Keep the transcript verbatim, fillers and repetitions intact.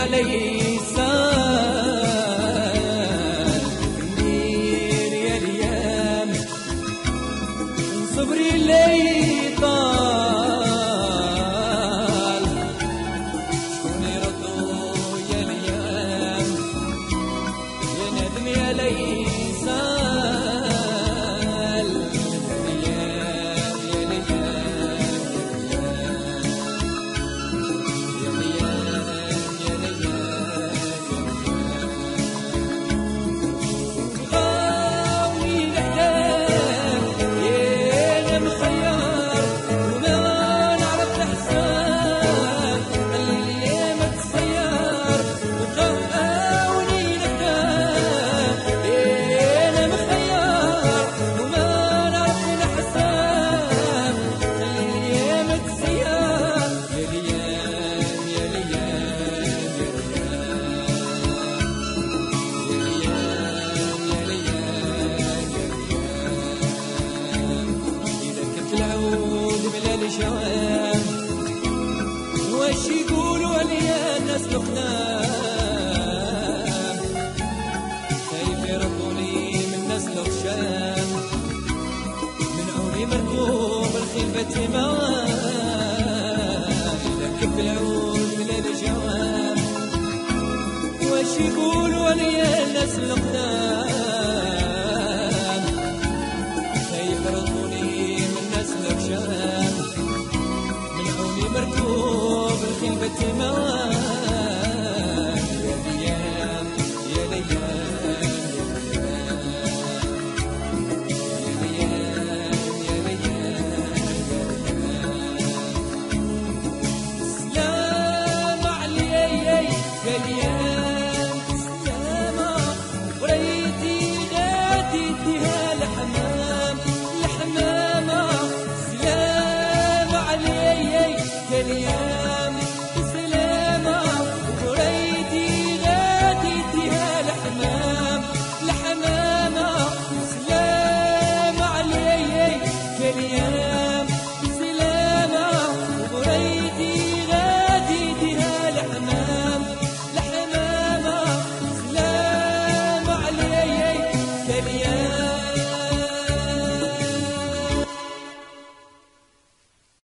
عليه سال كندير يا الايام صبري لي طال شكون يردو يا الايام يا ندم يا لي سال الايام يا واش يقولوا عليا الناس الخدام خايف يردوني من الناس الخشام من عوني مركوب الخلفة تمام لكب العود من الجوام واش يقولوا عليا الناس الخدام خايف يردوني من الناس الخشام مركوب الخلبة تمام يا ليام يا ليام يا ليام سلام عليك يا ليام سلام وريتي غادي فيها الحمام الحمامة سلام عليك يا ليام